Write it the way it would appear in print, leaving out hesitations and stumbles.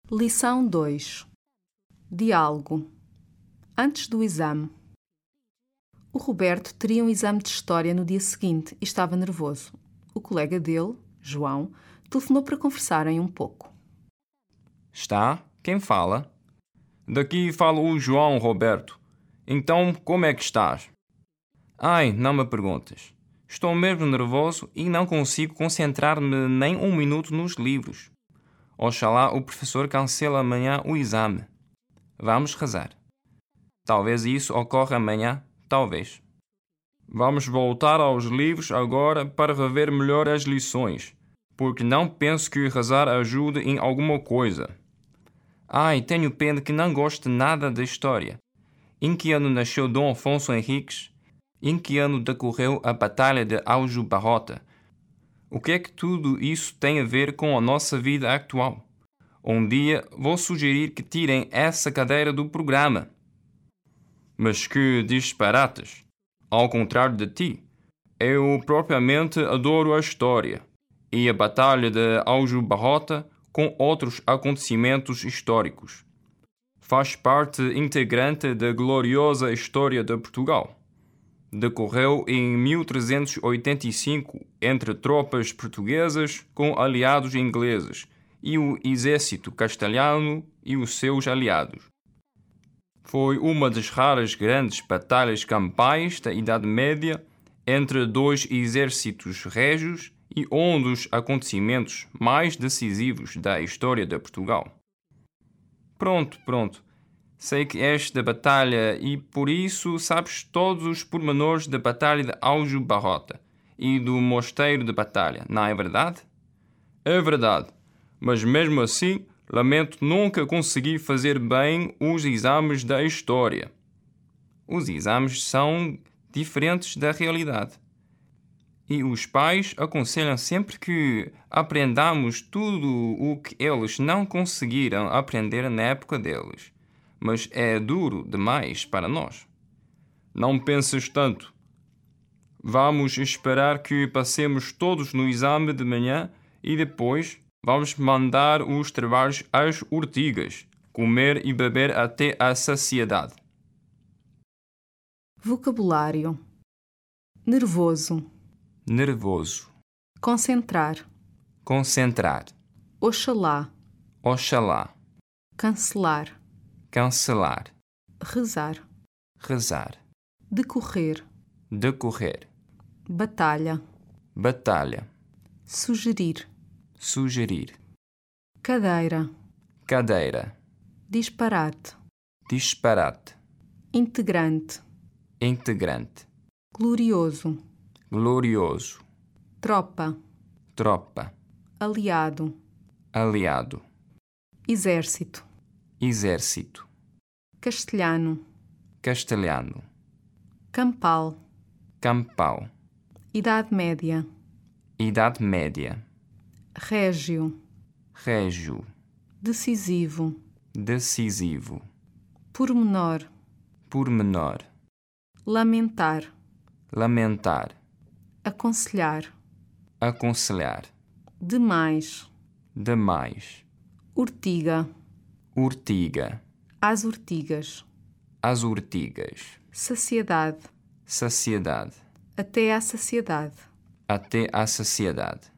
Lição 2. Diálogo. Antes do exame. O Roberto teria um exame de História no dia seguinte e estava nervoso. O colega dele, João, telefonou para conversarem um pouco. Está? Quem fala? Daqui fala o João Roberto. Então, como é que estás? Ai, não me perguntes. Estou mesmo nervoso e não consigo concentrar-me nem um minuto nos livros. Oxalá o professor cancele amanhã o exame. Vamos rezar. Talvez isso ocorra amanhã, talvez. Vamos voltar aos livros agora para rever melhor as lições, porque não penso que rezar ajude em alguma coisa. Ai, tenho pena que não goste nada da história. Em que ano nasceu Dom Afonso Henriques? Em que ano decorreu a Batalha de Aljubarrota? O que é que tudo isso tem a ver com a nossa vida atual? Um dia vou sugerir que tirem essa cadeira do programa. Mas que disparates! Ao contrário de ti, eu propriamente adoro a história e a Batalha de Aljubarrota com outros acontecimentos históricos. Faz parte integrante da gloriosa história de Portugal. Decorreu em 1385 entre tropas portuguesas com aliados ingleses e o exército castelhano e os seus aliados. Foi uma das raras grandes batalhas campais da Idade Média entre dois exércitos régios e um dos acontecimentos mais decisivos da história de Portugal. Pronto. Sei que és da batalha e por isso sabes todos os pormenores da Batalha de Aljubarrota e do Mosteiro de Batalha, não é verdade? É verdade, mas mesmo assim lamento nunca conseguir fazer bem os exames da história. Os exames são diferentes da realidade. E os pais aconselham sempre que aprendamos tudo o que eles não conseguiram aprender na época deles. Mas é duro demais para nós. Não penses tanto. Vamos esperar que passemos todos no exame de manhã e depois vamos mandar os trabalhos às urtigas, comer e beber até à saciedade. Vocabulário. Nervoso. Nervoso. Concentrar. Concentrar. Oxalá. Oxalá. Cancelar. Cancelar. Rezar. Rezar. Decorrer. Decorrer. Batalha. Batalha. Sugerir. Sugerir. Cadeira. Cadeira. Disparate. Disparate. Integrante. Integrante. Glorioso. Glorioso. Tropa. Tropa. Aliado. Aliado. Exército. Exército. Castelhano. Castelhano. Campal. Campal. Idade Média. Idade Média. Régio. Régio. Decisivo. Decisivo. Pormenor. Pormenor. Lamentar. Lamentar. Aconselhar. Aconselhar. Demais. Demais. Urtiga. Urtiga. Às urtigas. Às urtigas. Saciedade. Saciedade. Até à saciedade. Até à saciedade.